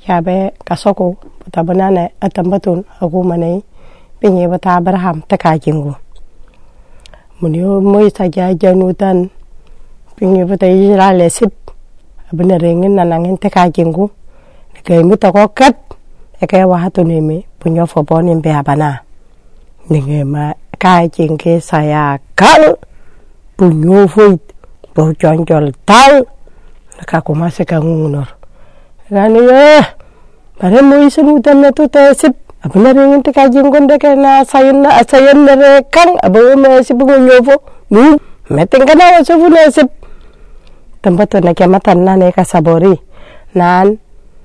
yabe kasoko tabanane atambatun agumane pinye bata Abraham takajingu munyo moisa janutan pinye bata Israel sip benerengin nanangin takajingu ke mutakokat ke wahatu neme punyo fobonin be abana ninge ma kajing ke saya kal punyo fuit bo jonjol tal kakuma se kangunor gani pare moisa nutan na to sip abana ringin takajing gonde kana sayen nere kang abo me sibungo nyofo nu meten kana wasofu na sip tembato na kiamatan na ne kasabori nan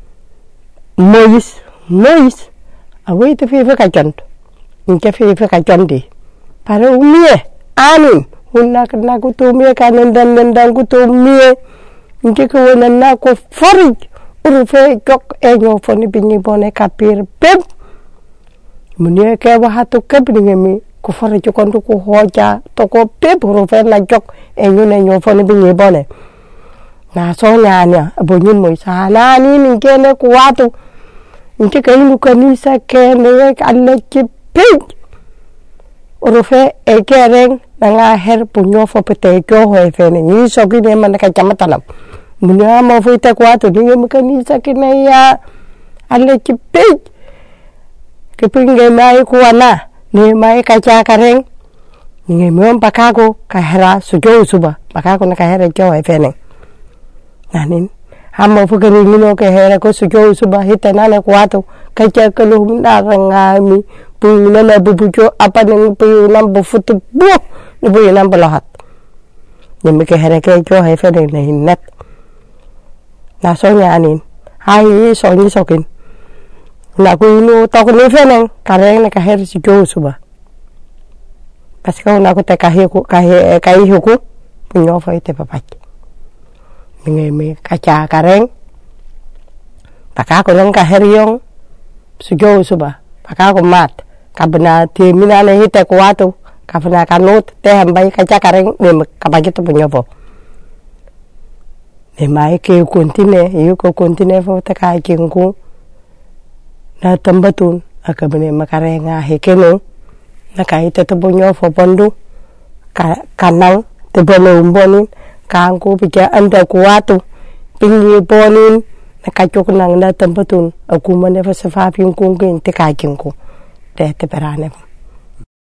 mois awe te fe ka jont nke fe ka jondi pare umie anin unna kana ko to mie kanen dan ko to mie nke ko wona na ko forij uru fe jok enyo foni binni bone kapir pep munie ke wa hatu kabni ngemi ko forij ko ndu ko hoja to ko pep uru fe na jok enyo foni binni bone na so nyanya abonyin moisa na ni ngene ko watu nke kainu kanisa kene alle kipig orofe ekereng nanga her punyo fo pete ko ho fene ni so kine man ka chamatanam munya mo fo ite kwatu ni kanisa kene ya alle kipig kipinge mai kuana ni mai ka cha kareng ni mo pakako ka hera sujo suba pakako na ka hera ko ho fene nanin hamo fukari mino ke hera ko sujo suba hitana na kwatu kacha kalu na rangami puna na bubujo apa nang puna bufutu bu bu na balahat ni ke hera ke jo he fe na hinat na so nyanin hai so ni sokin na ku no to ko ni fe nang kare na ka hera sujo suba paska na ko te ka he ko punyo fa ite papat ngeme kaca kareng pakako nang kaheriong sujo suba pakako mat kabna ti minane hite ko watu kabna kanut te hambai kaca kareng ne kabagito punyopo ne mai ke kontine yu ko kontine fo ta ka kinku na tambatun akabne makarenga hekeno na kaite to punyopo pondu kanang te bolo umbonin kangku pija anda kuatu pingi bonin nakachok nang na tempatun aku mane fa safa ping kung kin te kajingku te te perane